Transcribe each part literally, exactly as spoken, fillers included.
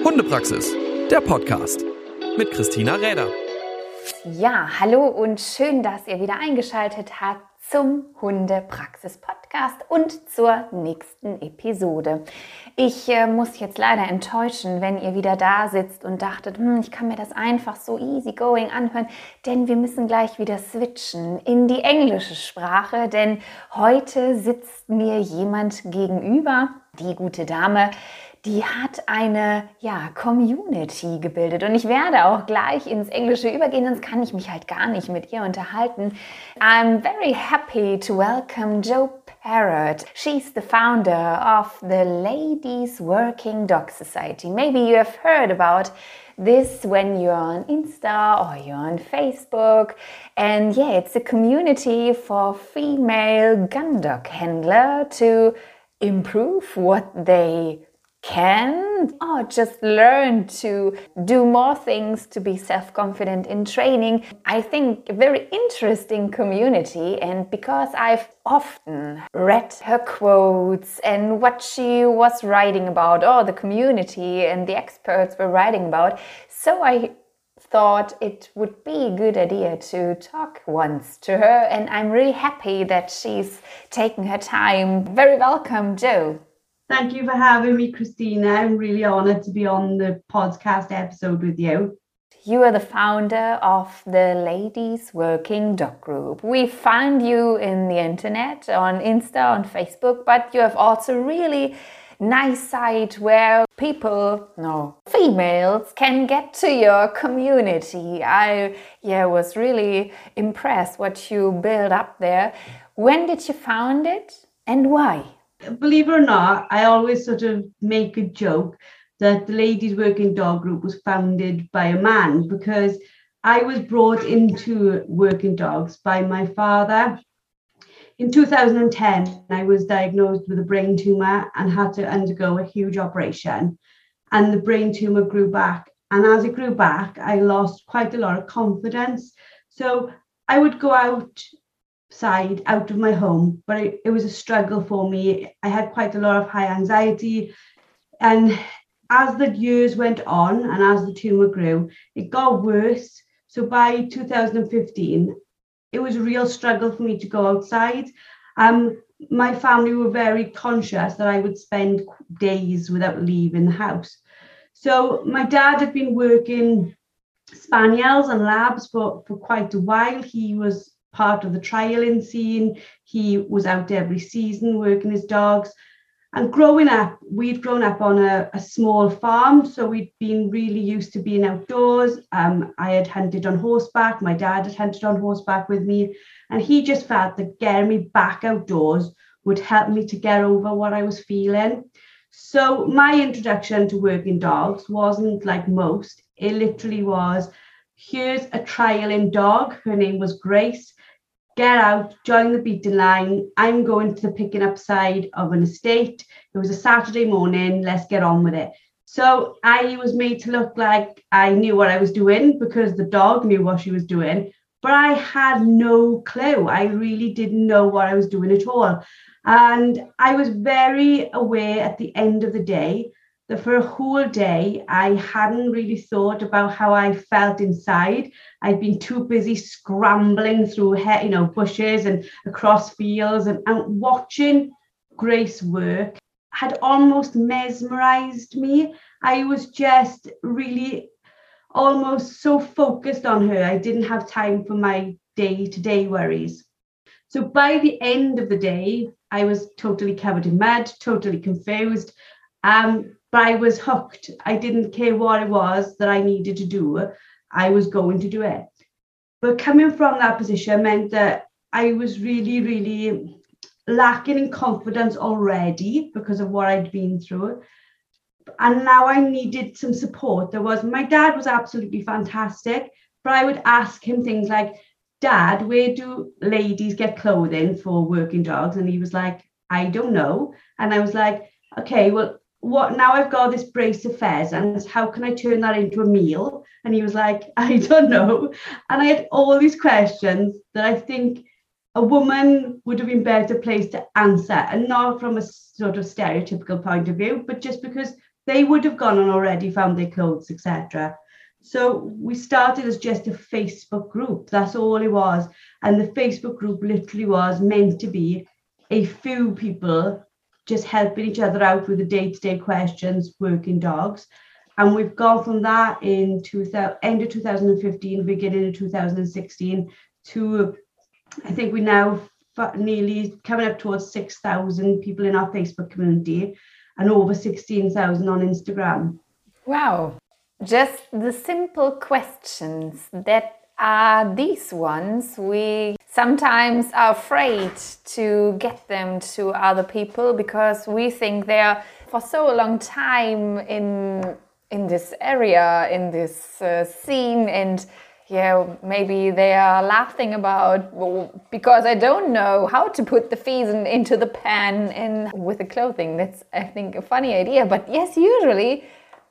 Hundepraxis, der Podcast mit Christina Räder. Ja, hallo und schön, dass ihr wieder eingeschaltet habt zum Hundepraxis-Podcast und zur nächsten Episode. Ich äh, muss jetzt leider enttäuschen, wenn ihr wieder da sitzt und dachtet, hm, ich kann mir das einfach so easy going anhören, denn wir müssen gleich wieder switchen in die englische Sprache, denn heute sitzt mir jemand gegenüber, die gute Dame, die hat eine ja, Community gebildet und ich werde auch gleich ins Englische übergehen, sonst kann ich mich halt gar nicht mit ihr unterhalten. I'm very happy to welcome Jo Parrott. She's the founder of the Ladies Working Dog Society. Maybe you have heard about this when you're on Insta or you're on Facebook. And yeah, it's a community for female gun dog handler to improve what they can or just learn to do more things to be self-confident in training. I think a very interesting community, and because I've often read her quotes and what she was writing about, or the community and the experts were writing about, so I thought it would be a good idea to talk once to her, and I'm really happy that she's taken her time. Very welcome, Jo. Thank you for having me, Christina. I'm really honoured to be on the podcast episode with you. You are the founder of the Ladies Working Dog Group. We find you in the internet, on Insta, on Facebook, but you have also really nice site where people, no, females can get to your community. I yeah, was really impressed what you built up there. When did you found it and why? Believe it or not, I always sort of make a joke that the Ladies Working Dog Group was founded by a man, because I was brought into working dogs by my father. In two thousand ten, I was diagnosed with a brain tumour and had to undergo a huge operation, and the brain tumour grew back. And as it grew back, I lost quite a lot of confidence. So I would go out side out of my home, but it, it was a struggle for me. I had quite a lot of high anxiety, and as the years went on and as the tumor grew, it got worse. So by two thousand fifteen, it was a real struggle for me to go outside. Um, my family were very conscious that I would spend days without leaving the house. So my dad had been working spaniels and labs for, for quite a while. He was part of the trialing scene. He was out every season working his dogs. And growing up, we'd grown up on a, a small farm, so we'd been really used to being outdoors. Um, I had hunted on horseback. My dad had hunted on horseback with me. And he just felt that getting me back outdoors would help me to get over what I was feeling. So my introduction to working dogs wasn't like most. It literally was, here's a trialing dog. Her name was Grace. Get out, join the beating line. I'm going to the picking up side of an estate. It was a Saturday morning. Let's get on with it. So I was made to look like I knew what I was doing because the dog knew what she was doing, but I had no clue. I really didn't know what I was doing at all. And I was very aware at the end of the day that for a whole day, I hadn't really thought about how I felt inside. I'd been too busy scrambling through, you know, bushes and across fields, and, and watching Grace work had almost mesmerized me. I was just really almost so focused on her. I didn't have time for my day-to-day worries. So by the end of the day, I was totally covered in mud, totally confused. Um, But I was hooked. I didn't care what it was that I needed to do. I was going to do it. But coming from that position meant that I was really, really lacking in confidence already because of what I'd been through. And now I needed some support. There was, my dad was absolutely fantastic, but I would ask him things like, Dad, where do ladies get clothing for working dogs? And he was like, I don't know. And I was like, okay, well, what now I've got this brace of pheasants, how can I turn that into a meal? And he was like, I don't know. And I had all these questions that I think a woman would have been better placed to answer, and not from a sort of stereotypical point of view, but just because they would have gone on already, found their clothes, et cetera. So we started as just a Facebook group. That's all it was. And the Facebook group literally was meant to be a few people just helping each other out with the day-to-day questions, working dogs. And we've gone from that in two thousand, end of two thousand fifteen, beginning of two thousand sixteen, to I think we now nearly coming up towards six thousand people in our Facebook community and over sixteen thousand on Instagram. Wow. Just the simple questions that are these ones, we sometimes are afraid to get them to other people because we think they're for so long time in in this area, in this uh, scene, and yeah, maybe they are laughing about, well, because I don't know how to put the fees in, into the pan and with the clothing. That's, I think, a funny idea. But yes, usually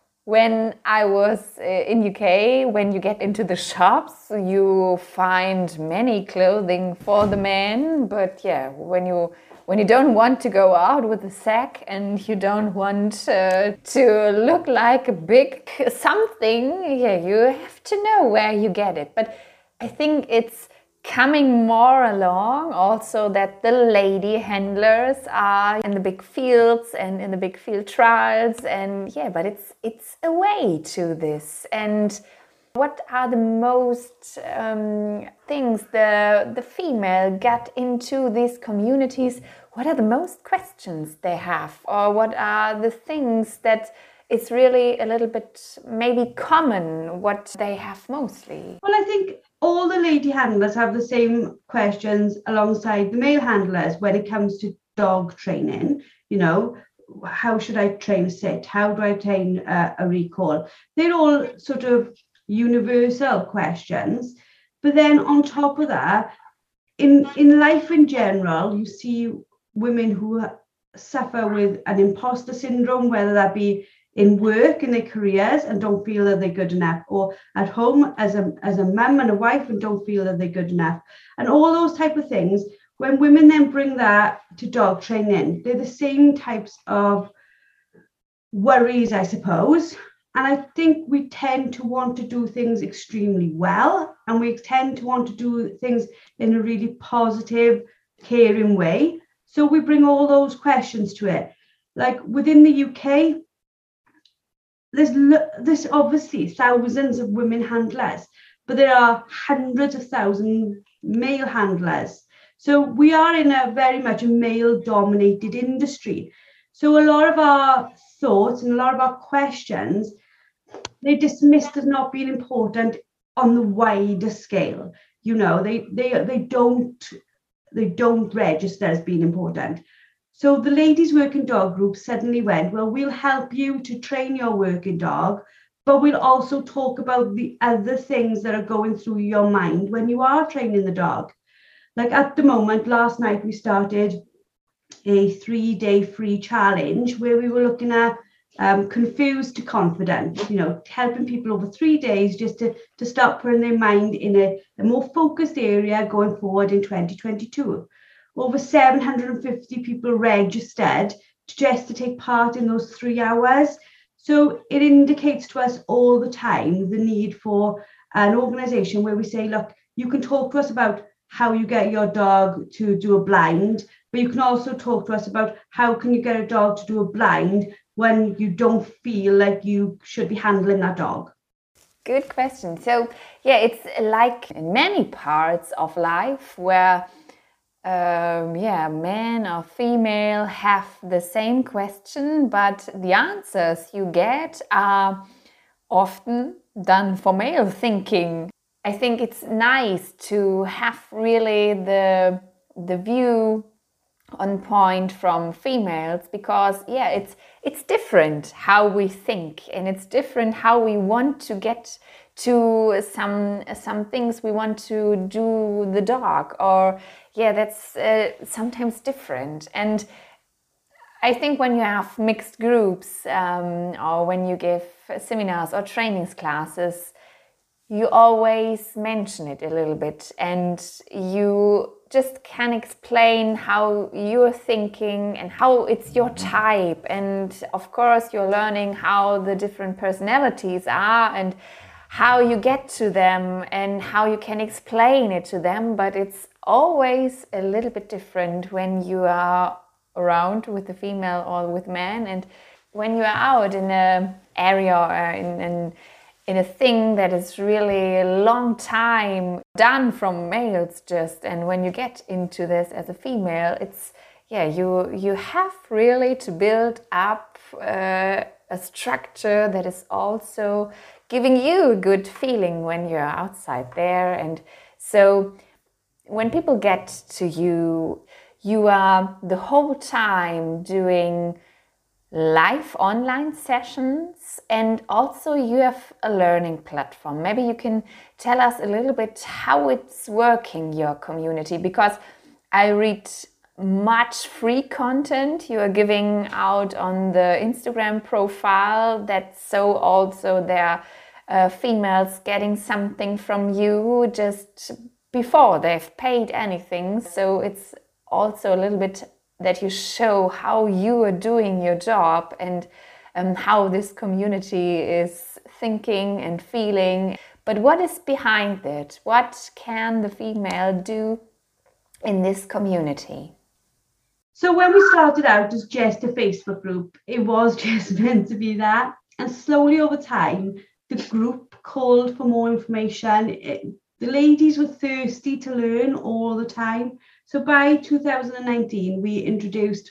when I was uh, in U K, when you get into the shops, you find many clothing for the men. But yeah, when you when you don't want to go out with a sack and you don't want uh, to look like a big something, yeah, you have to know where you get it. But I think it's coming more along also that the lady handlers are in the big fields and in the big field trials, and yeah, but it's it's a way to this. And what are the most um, things the the female get into these communities? What are the most questions they have, or what are the things that it's really a little bit maybe common what they have mostly? Well, I think all the lady handlers have the same questions alongside the male handlers when it comes to dog training. You know, how should I train a sit? How do I train a, a recall? They're all sort of universal questions. But then on top of that, in, in life in general, you see women who suffer with an imposter syndrome, whether that be in work, in their careers, and don't feel that they're good enough, or at home as a as a mum and a wife and don't feel that they're good enough, and all those type of things. When women then bring that to dog training, they're the same types of worries, I suppose. And I think we tend to want to do things extremely well, and we tend to want to do things in a really positive, caring way. So we bring all those questions to it. Like within the U K, There's, there's obviously thousands of women handlers, but there are hundreds of thousands male handlers. So we are in a very much a male-dominated industry. So a lot of our thoughts and a lot of our questions, they're dismissed as not being important on the wider scale. You know, they they they don't they don't register as being important. So the ladies working dog group suddenly went, well, we'll help you to train your working dog, but we'll also talk about the other things that are going through your mind when you are training the dog. Like at the moment, last night we started a three-day free challenge where we were looking at um, confused to confident, you know, helping people over three days just to, to start putting their mind in a, a more focused area going forward in twenty twenty-two. Over seven hundred fifty people registered just to take part in those three hours. So it indicates to us all the time the need for an organisation where we say, look, you can talk to us about how you get your dog to do a blind, but you can also talk to us about how can you get a dog to do a blind when you don't feel like you should be handling that dog. Good question. So yeah, it's like in many parts of life where Um, yeah, men or female have the same question, but the answers you get are often done for male thinking. I think it's nice to have really the the view on point from females because yeah, it's it's different how we think, and it's different how we want to get to some some things we want to do the dog, or yeah, that's uh, sometimes different. And I think when you have mixed groups um, or when you give seminars or trainings classes, you always mention it a little bit and you just can explain how you're thinking and how it's your type. And of course, you're learning how the different personalities are and how you get to them and how you can explain it to them. But it's always a little bit different when you are around with the female or with men, and when you are out in an area or in, in in a thing that is really a long time done from males just, and when you get into this as a female, it's yeah you you have really to build up uh, a structure that is also giving you a good feeling when you're outside there. And so when people get to you, you are the whole time doing live online sessions, and also you have a learning platform. Maybe you can tell us a little bit how it's working, your community, because I read much free content you are giving out on the Instagram profile, that so also there are uh, females getting something from you just before they've paid anything. So it's also a little bit that you show how you are doing your job and um, how this community is thinking and feeling. But what is behind it? What can the female do in this community? So when we started out as just a Facebook group, it was just meant to be that. And slowly over time, the group called for more information. It, the ladies were thirsty to learn all the time. So by two thousand nineteen, we introduced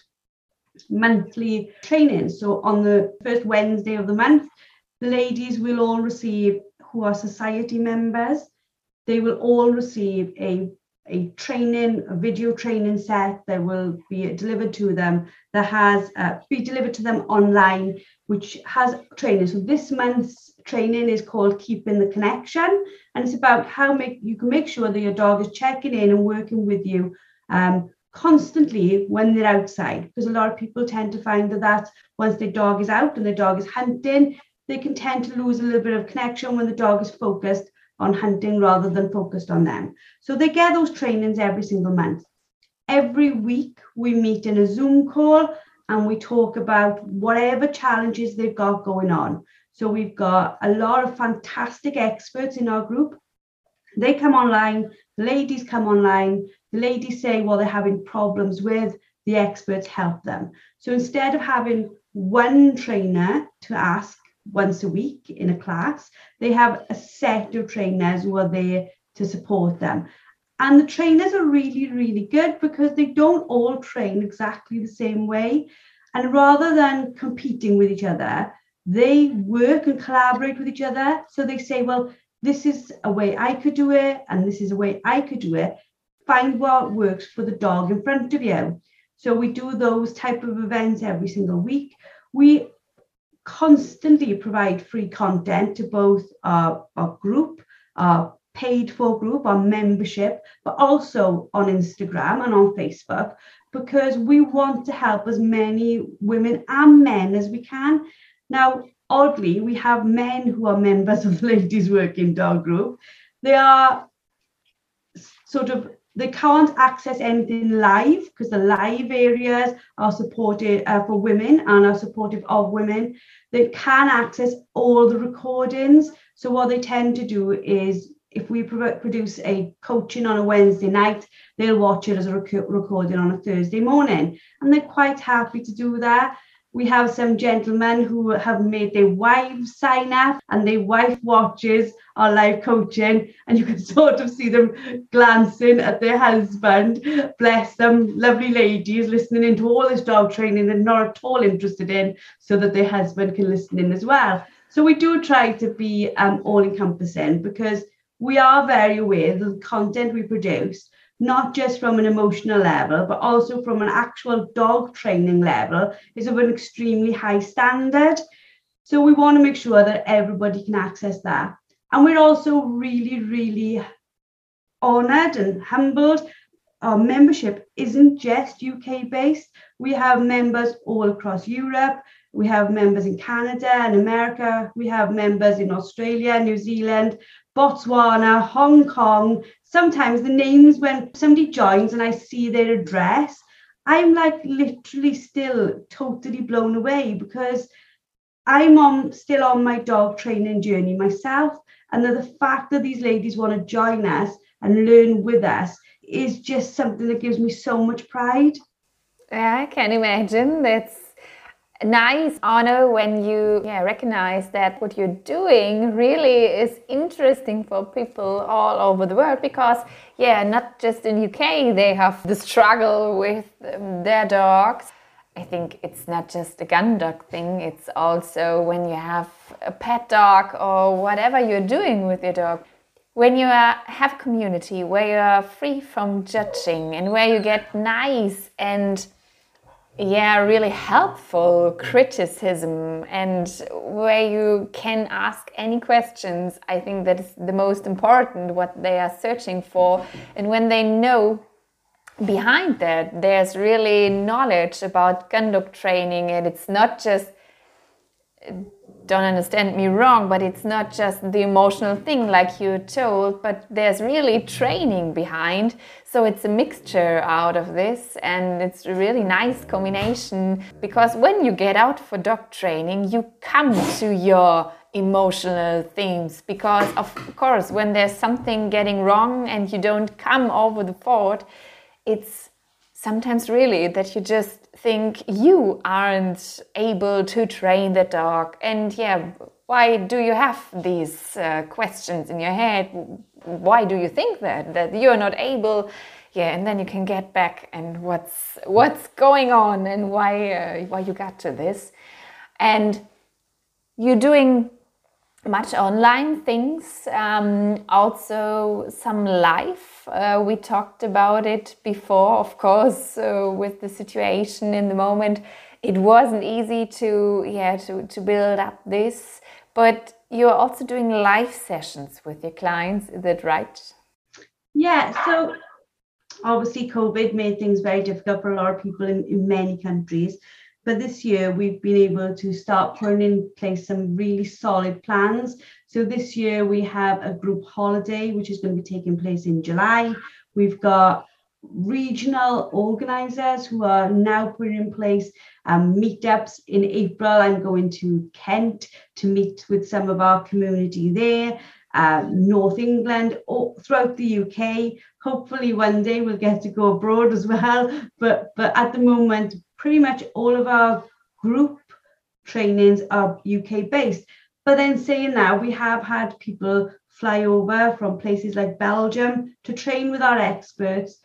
monthly training. So on the first Wednesday of the month, the ladies will all receive, who are society members, they will all receive a, a training, a video training set that will be delivered to them, that has uh, be delivered to them online, which has training. So this month's training is called Keeping the Connection, and it's about how make you can make sure that your dog is checking in and working with you um, constantly when they're outside, because a lot of people tend to find that, that once their dog is out and their dog is hunting, they can tend to lose a little bit of connection when the dog is focused on hunting rather than focused on them. So they get those trainings every single month. Every week we meet in a Zoom call and we talk about whatever challenges they've got going on. So we've got a lot of fantastic experts in our group. They come online, the ladies come online, the ladies say what they're having problems with, the experts help them. So instead of having one trainer to ask once a week in a class, they have a set of trainers who are there to support them. And the trainers are really, really good because they don't all train exactly the same way. And rather than competing with each other, they work and collaborate with each other. So they say, well, this is a way I could do it, and this is a way I could do it. Find what works for the dog in front of you. So we do those type of events every single week. We constantly provide free content to both our, our group, our paid for group, our membership, but also on Instagram and on Facebook, because we want to help as many women and men as we can. Now, oddly, we have men who are members of the Ladies Working Dog Group. They are sort of, they can't access anything live because the live areas are supported uh, for women and are supportive of women. They can access all the recordings. So what they tend to do is, if we pro- produce a coaching on a Wednesday night, they'll watch it as a rec- recording on a Thursday morning. And they're quite happy to do that. We have some gentlemen who have made their wives sign up, and their wife watches our live coaching, and you can sort of see them glancing at their husband. Bless them, lovely ladies, listening into all this dog training they're not at all interested in, so that their husband can listen in as well. So we do try to be um, all-encompassing, because we are very aware that the content we produce, not just from an emotional level, but also from an actual dog training level, is of an extremely high standard. So we want to make sure that everybody can access that. And we're also really, really honoured and humbled. Our membership isn't just U K based. We have members all across Europe. We have members in Canada and America. We have members in Australia, New Zealand, Botswana, Hong Kong. Sometimes the names, when somebody joins and I see their address, I'm like literally still totally blown away, because I'm on still on my dog training journey myself. And the fact that these ladies want to join us and learn with us is just something that gives me so much pride. Yeah, I can imagine. That's a nice honor when you yeah, recognize that what you're doing really is interesting for people all over the world, because yeah, not just in U K they have the struggle with um, their dogs. I think it's not just a gun dog thing, it's also when you have a pet dog or whatever you're doing with your dog. When you are, have a community where you are free from judging and where you get nice and yeah, really helpful criticism, and where you can ask any questions, I think that is the most important, what they are searching for. And when they know behind that there's really knowledge about gun dog training, and it's not just, don't understand me wrong, but it's not just the emotional thing like you told, but there's really training behind. So it's a mixture out of this, and it's a really nice combination, because when you get out for dog training, you come to your emotional themes, because of course when there's something getting wrong and you don't come over the fort, it's sometimes really that you just think you aren't able to train the dog. And yeah, why do you have these uh, questions in your head? Why do you think that, that you're not able? Yeah, and then you can get back and what's what's going on and why uh, why you got to this. And you're doing much online things, um, also some live. Uh, we talked about it before, of course, uh, with the situation in the moment. It wasn't easy to, yeah, to, to build up this, but you're also doing live sessions with your clients, is that right? Yeah, so obviously COVID made things very difficult for a lot of people in, in many countries. But this year we've been able to start putting in place some really solid plans. So this year we have a group holiday, which is going to be taking place in July. We've got regional organisers who are now putting in place um, meetups. In April, I'm going to Kent to meet with some of our community there. Uh, North England, or throughout the U K. Hopefully one day we'll get to go abroad as well. But, but at the moment, pretty much all of our group trainings are U K based. But then saying that, we have had people fly over from places like Belgium to train with our experts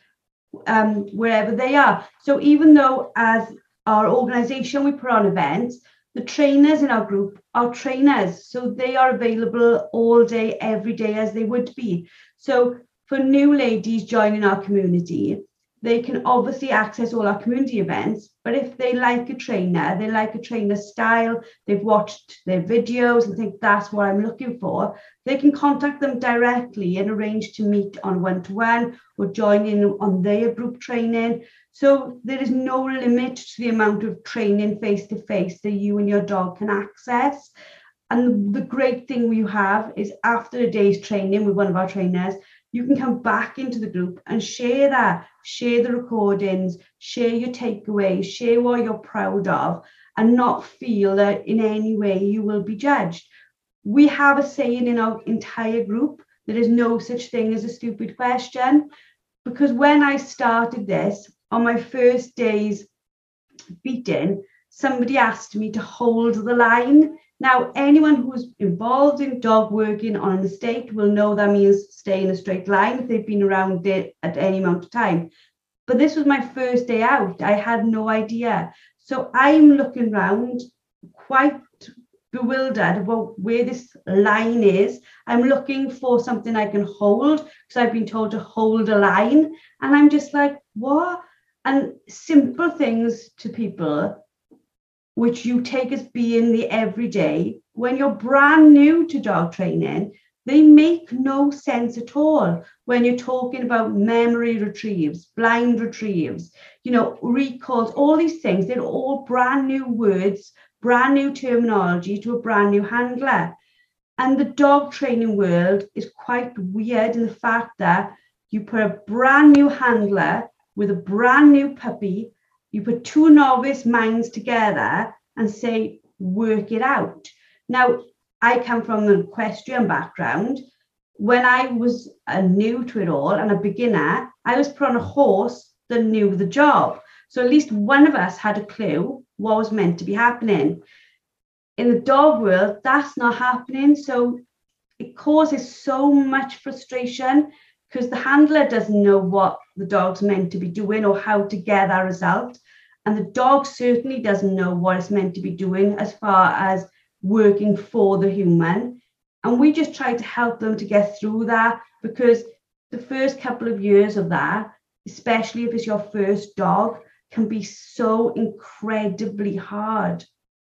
um, wherever they are. So even though as our organisation, we put on events, the trainers in our group are trainers. So they are available all day, every day as they would be. So for new ladies joining our community, they can obviously access all our community events, but if they like a trainer, they like a trainer style, they've watched their videos and think that's what I'm looking for, they can contact them directly and arrange to meet on one-to-one or join in on their group training. So there is no limit to the amount of training face-to-face that you and your dog can access. And the great thing we have is after a day's training with one of our trainers, you can come back into the group and share that, share the recordings, share your takeaways, share what you're proud of, and not feel that in any way you will be judged. We have a saying in our entire group, there is no such thing as a stupid question, because when I started this, on my first day's beating, somebody asked me to hold the line. Now, anyone who's involved in dog working on an estate will know that means stay in a straight line if they've been around it at any amount of time. But this was my first day out. I had no idea. So I'm looking around quite bewildered about where this line is. I'm looking for something I can hold because I've been told to hold a line. And I'm just like, what? And simple things to people which you take as being the everyday, when you're brand new to dog training, they make no sense at all. When you're talking about memory retrieves, blind retrieves, you know, recalls, all these things, they're all brand new words, brand new terminology to a brand new handler. And the dog training world is quite weird in the fact that you put a brand new handler with a brand new puppy, you put two novice minds together and say, work it out. Now, I come from the equestrian background. When I was uh, new to it all and a beginner, I was put on a horse that knew the job. So at least one of us had a clue what was meant to be happening. In the dog world, that's not happening. So it causes so much frustration because the handler doesn't know what the dog's meant to be doing or how to get that result. And the dog certainly doesn't know what it's meant to be doing as far as working for the human. And we just try to help them to get through that, because the first couple of years of that, especially if it's your first dog, can be so incredibly hard.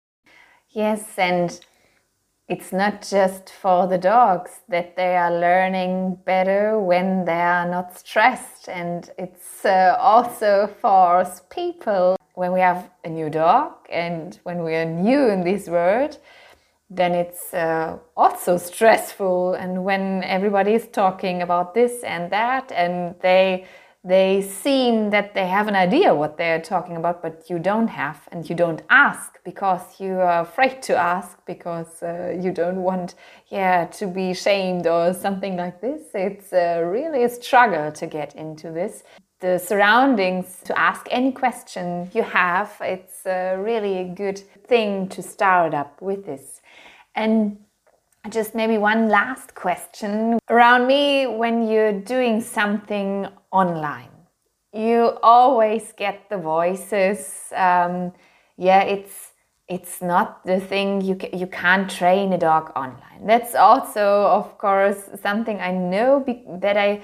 Yes, and it's not just for the dogs that they are learning better when they are not stressed, and it's uh, also for us people. When we have a new dog and when we are new in this world, then it's uh, also stressful. And when everybody is talking about this and that, and they they seem that they have an idea what they're talking about, but you don't have, and you don't ask because you are afraid to ask, because uh, you don't want yeah to be shamed or something like this. It's uh, really a struggle to get into this. The surroundings to ask any question you have, it's uh, really a good thing to start up with this. And just maybe one last question. Around me, when you're doing something online, you always get the voices. Um, yeah, it's it's not the thing, you, ca- you can't train a dog online. That's also, of course, something I know be- that I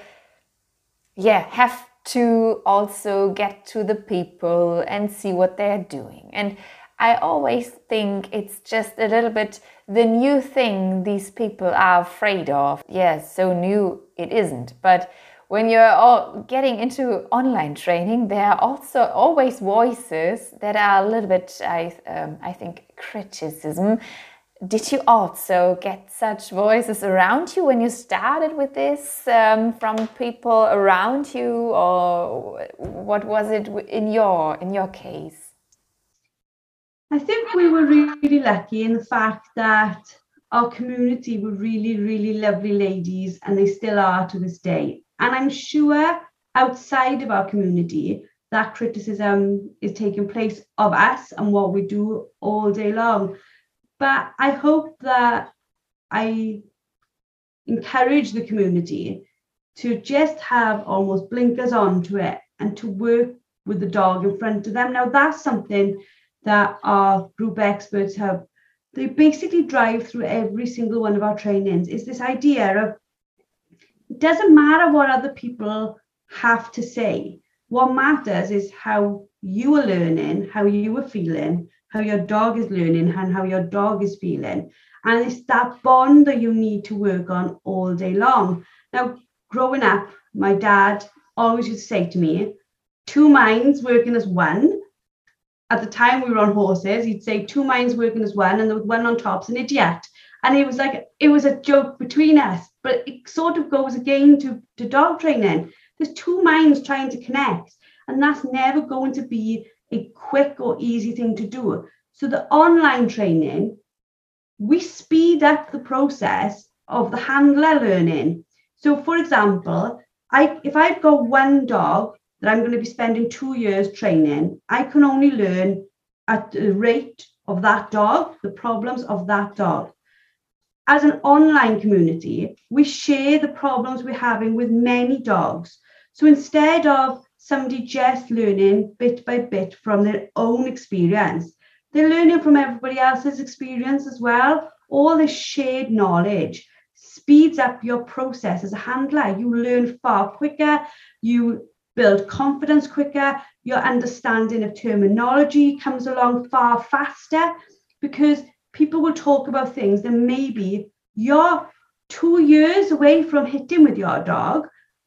yeah have to also get to the people and see what they're doing. And I always think it's just a little bit the new thing these people are afraid of. Yes, so new it isn't. But when you're all getting into online training, there are also always voices that are a little bit, I, um, I think, criticism. Did you also get such voices around you when you started with this, um, from people around you, or what was it in your in your case? I think we were really lucky in the fact that our community were really, really lovely ladies, and they still are to this day. And I'm sure outside of our community, that criticism is taking place of us and what we do all day long. But I hope that I encourage the community to just have almost blinkers on to it and to work with the dog in front of them. Now, that's something that our group experts have. They basically drive through every single one of our trainings, is this idea of it doesn't matter what other people have to say. What matters is how you are learning, how you are feeling, how your dog is learning, and how your dog is feeling. And it's that bond that you need to work on all day long. Now, growing up, my dad always used to say to me, two minds working as one. At the time we were on horses, he'd say two minds working as one, and the one on top's an idiot. And it was like, it was a joke between us, but it sort of goes again to, to dog training. There's two minds trying to connect, and that's never going to be a quick or easy thing to do. So the online training, we speed up the process of the handler learning. So for example, I if I've got one dog that I'm going to be spending two years training, I can only learn at the rate of that dog, the problems of that dog. As an online community, we share the problems we're having with many dogs. So instead of somebody just learning bit by bit from their own experience, they're learning from everybody else's experience as well. All this shared knowledge speeds up your process as a handler. You learn far quicker, you build confidence quicker, your understanding of terminology comes along far faster, because people will talk about things that maybe you're two years away from hitting with your dog,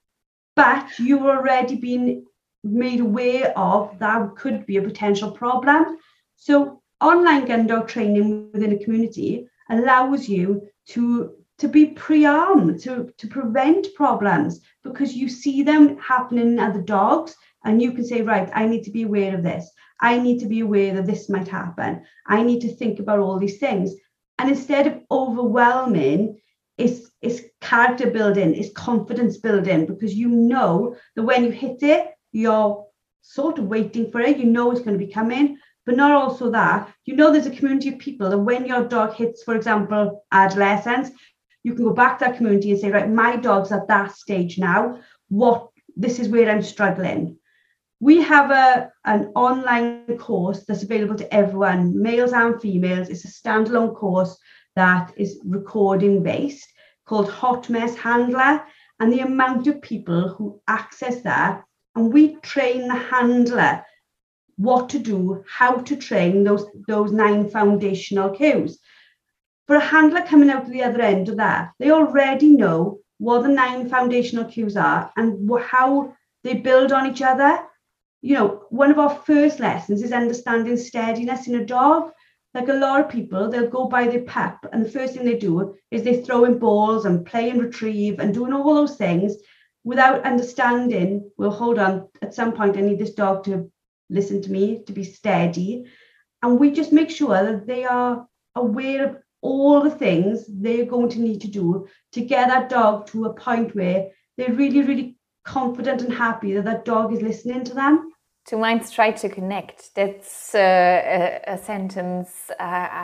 but you've already been made aware of that could be a potential problem. So online gun dog training within a community allows you to, to be pre-armed, to, to prevent problems, because you see them happening in other dogs and you can say, right, I need to be aware of this. I need to be aware that this might happen. I need to think about all these things. And instead of overwhelming, it's, it's character building, it's confidence building, because you know that when you hit it, you're sort of waiting for it. You know it's going to be coming, but not also that. You know there's a community of people that when your dog hits, for example, adolescence, you can go back to that community and say, right, my dog's at that stage now. What, this is where I'm struggling. We have a, an online course that's available to everyone, males and females. It's a standalone course that is recording based, called Hot Mess Handler. And the amount of people who access that, and we train the handler what to do, how to train those, those nine foundational cues. For a handler coming out the other end of that, they already know what the nine foundational cues are and how they build on each other. You know, one of our first lessons is understanding steadiness in a dog. Like a lot of people, they'll go by their pup, and the first thing they do is they throw in balls and play and retrieve and doing all those things without understanding, well, hold on, at some point I need this dog to listen to me, to be steady. And we just make sure that they are aware of all the things they're going to need to do to get that dog to a point where they're really, really confident and happy that that dog is listening to them. Two minds try to connect. That's uh, a, a sentence uh,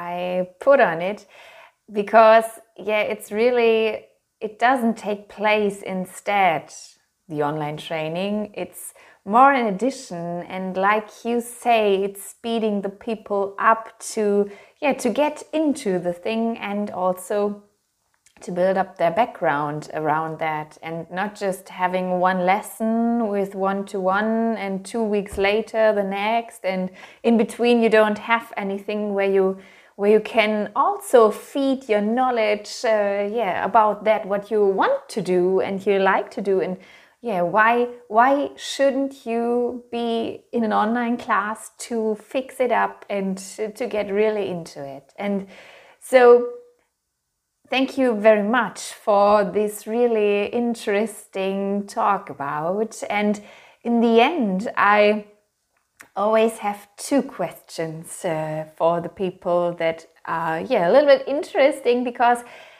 I put on it, because, yeah, it's really, it doesn't take place instead, the online training. It's more in addition, and like you say, it's speeding the people up to, yeah, to get into the thing, and also to build up their background around that, and not just having one lesson with one-to-one and two weeks later the next, and in between you don't have anything where you where you can also feed your knowledge uh, yeah, about that, what you want to do and you like to do. And yeah, why why shouldn't you be in an online class to fix it up and to get really into it? And so thank you very much for this really interesting talk about. And in the end, I always have two questions uh, for the people that are, yeah, a little bit interesting, because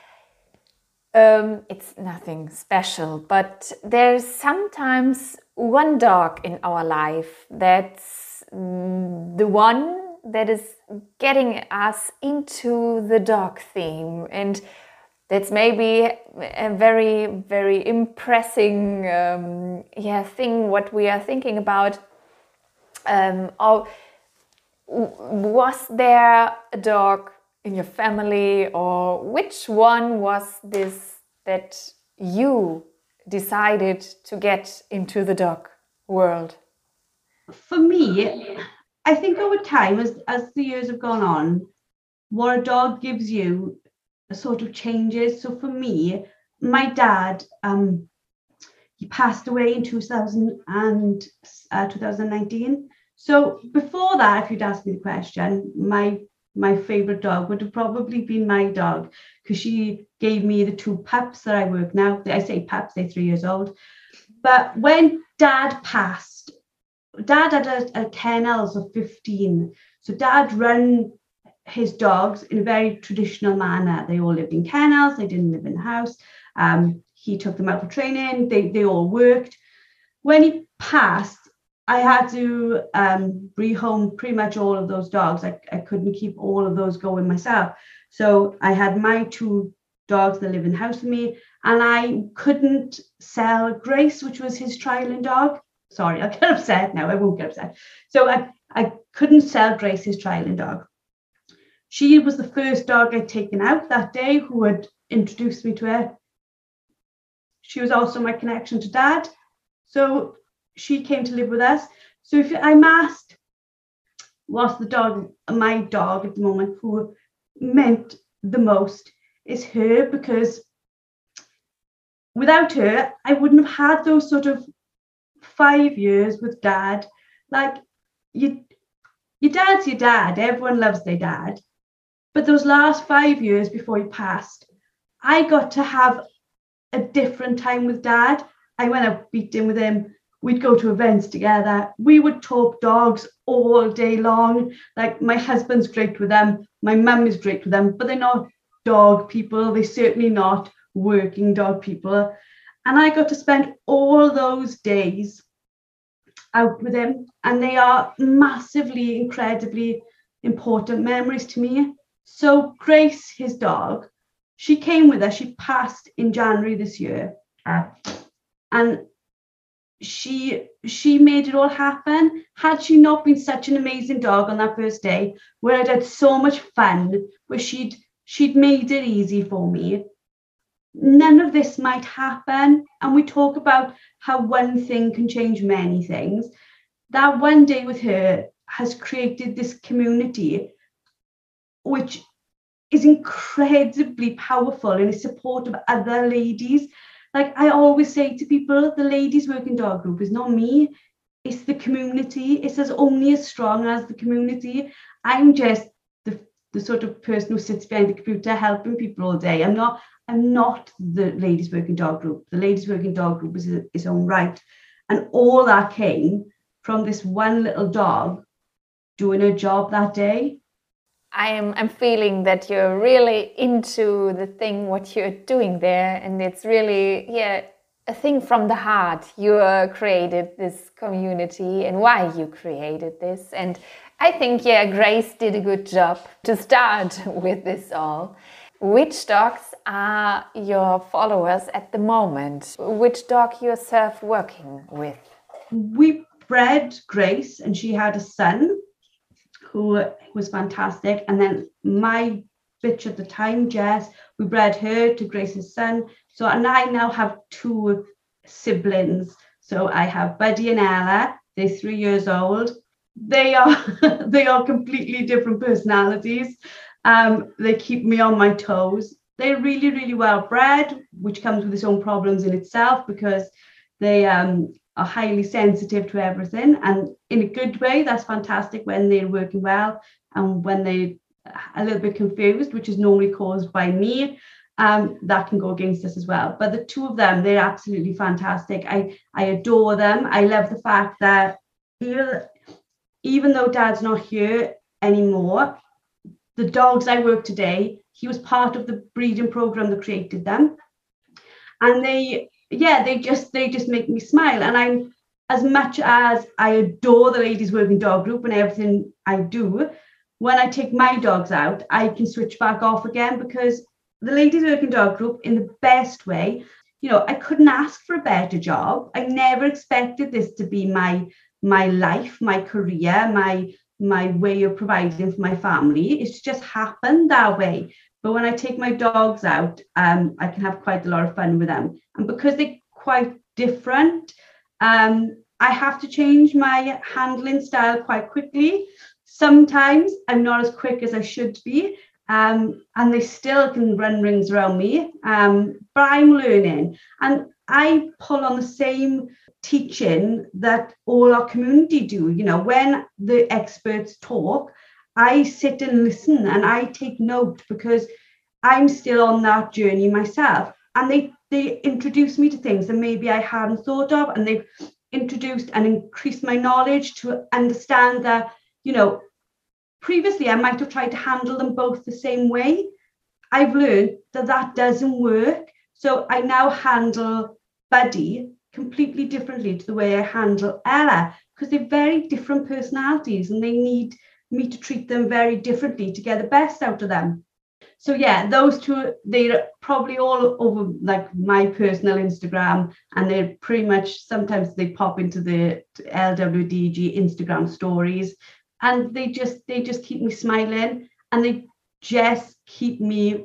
um, it's nothing special, but there's sometimes one dog in our life that's mm, the one that is getting us into the dog theme, and that's maybe a very, very impressing um, yeah, thing what we are thinking about. Um, or was there a dog in your family, or which one was this that you decided to get into the dog world? For me, I think over time, as, as the years have gone on, what a dog gives you sort of changes. So for me, my dad, um, he passed away in two thousand and uh, two thousand nineteen. So before that, if you'd asked me the question, my my favorite dog would have probably been my dog, because she gave me the two pups that I work now. I say pups, they're three years old. But when Dad passed, Dad had a, a kennels of fifteen. So Dad ran his dogs in a very traditional manner. They all lived in kennels. They didn't live in the house. Um, he took them out for training. They, they all worked. When he passed, I had to um, rehome pretty much all of those dogs. I, I couldn't keep all of those going myself. So I had my two dogs that live in the house with me, and I couldn't sell Grace, which was his trialing dog. Sorry, I'll get upset now. I won't get upset. So I, I couldn't sell Grace, his trialing dog. She was the first dog I'd taken out that day, who had introduced me to her. She was also my connection to Dad. So she came to live with us. So if I'm asked, what's the dog, my dog at the moment, who meant the most, is her, because without her, I wouldn't have had those sort of five years with Dad. Like, you, your dad's your dad. Everyone loves their dad. But those last five years before he passed, I got to have a different time with Dad. I went out beating with him. We'd go to events together. We would talk dogs all day long. Like, my husband's great with them. My mum is great with them, but they're not dog people. They're certainly not working dog people. And I got to spend all those days out with him. And they are massively, incredibly important memories to me. So Grace, his dog, she came with us. She passed in January this year. And she she made it all happen. Had she not been such an amazing dog on that first day, where I'd had so much fun, where she'd she'd made it easy for me, none of this might happen. And we talk about how one thing can change many things. That one day with her has created this community, which is incredibly powerful in the support of other ladies. Like, I always say to people, the ladies working dog group is not me, it's the community. It's as only as strong as the community. I'm just the, the sort of person who sits behind the computer helping people all day. I'm not I'm not the ladies working dog group. The ladies working dog group is its own right. And all that came from this one little dog doing her job that day. I am I'm feeling that you're really into the thing, what you're doing there. And it's really, yeah, a thing from the heart. You uh, created this community and why you created this. And I think, yeah, Grace did a good job to start with this all. Which dogs are your followers at the moment? Which dog you yourself working with? We bred Grace and she had a son who was fantastic. And then my bitch at the time, Jess, we bred her to Grace's son. So, and I now have two siblings. So I have Buddy and Ella. They're three years old. They are they are completely different personalities. Um, they keep me on my toes. They're really, really well bred, which comes with its own problems in itself, because they um, are highly sensitive to everything. And in a good way, that's fantastic when they're working well, and when they're a little bit confused, which is normally caused by me, um, that can go against us as well. But the two of them, they're absolutely fantastic. I, I adore them. I love the fact that even, even though Dad's not here anymore, the dogs I work today, he was part of the breeding program that created them. And they, yeah, they just they just make me smile. And I'm, as much as I adore the ladies working dog group and everything I do, when I take my dogs out, I can switch back off again, because the ladies working dog group, in the best way, you know, I couldn't ask for a better job. I never expected this to be my my life, my career, my my way of providing for my family. It's just happened that way. But when I take my dogs out, um, I can have quite a lot of fun with them. And because they're quite different, um, I have to change my handling style quite quickly. Sometimes I'm not as quick as I should be, um, and they still can run rings around me, um, but I'm learning. And I pull on the same teaching that all our community do. You know, when the experts talk, I sit and listen and I take note, because I'm still on that journey myself. And they they introduce me to things that maybe I hadn't thought of, and they've introduced and increased my knowledge to understand that, you know, previously I might have tried to handle them both the same way. I've learned that that doesn't work. So I now handle Buddy completely differently to the way I handle Ella, because they're very different personalities and they need me to treat them very differently to get the best out of them. So yeah, those two, they're probably all over like my personal Instagram, and they're pretty much, sometimes they pop into the L W D G Instagram stories, and they just they just keep me smiling, and they just keep me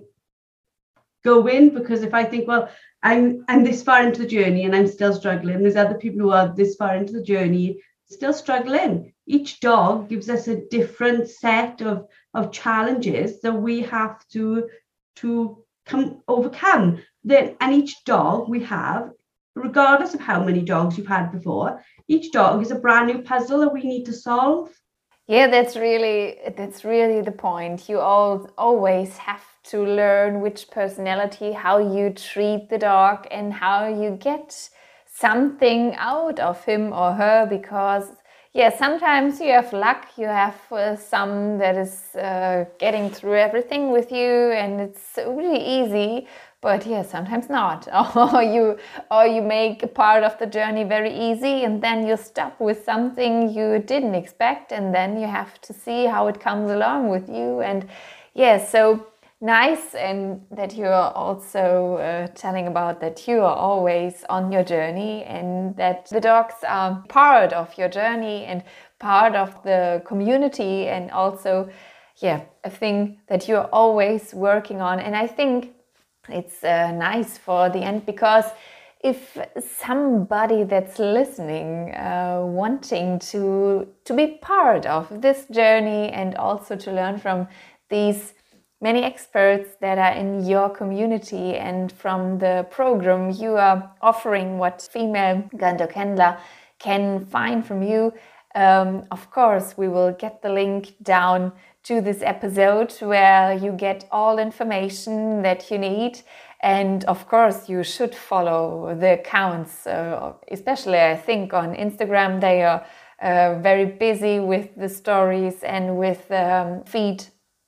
going. Because if I think, well, I'm I'm this far into the journey and I'm still struggling, there's other people who are this far into the journey still struggling. Each dog gives us a different set of of challenges that we have to to come overcome. Then, and each dog we have, regardless of how many dogs you've had before, each dog is a brand new puzzle that we need to solve. Yeah, that's really that's really the point. You all always have to learn which personality, how you treat the dog, and how you get something out of him or her. Because yeah, sometimes you have luck. You have uh, some that is uh, getting through everything with you, and it's really easy. But yeah, sometimes not. Or you or you make a part of the journey very easy, and then you stop with something you didn't expect, and then you have to see how it comes along with you. And yeah, so nice, and that you are also uh, telling about that you are always on your journey, and that the dogs are part of your journey and part of the community, and also yeah, a thing that you're always working on. And I think it's uh, nice for the end, because if somebody that's listening uh, wanting to to be part of this journey and also to learn from these many experts that are in your community and from the program you are offering, what female guide dog handler can find from you, um, of course we will get the link down to this episode where you get all information that you need. And of course you should follow the accounts, uh, especially I think on Instagram. They are uh, very busy with the stories and with um, feed.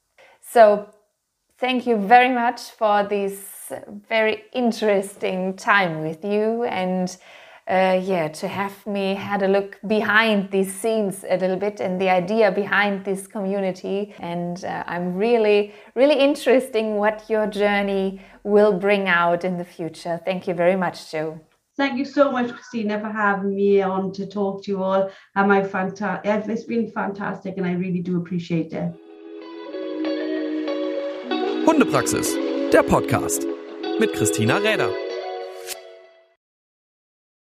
So thank you very much for this very interesting time with you, and Uh, yeah, to have me had a look behind these scenes a little bit and the idea behind this community. And uh, I'm really, really interested in what your journey will bring out in the future. Thank you very much, Jo. Thank you so much, Christina, for having me on to talk to you all. And my fanta- it's been fantastic, and I really do appreciate it. Hundepraxis, der Podcast mit Christina Räder.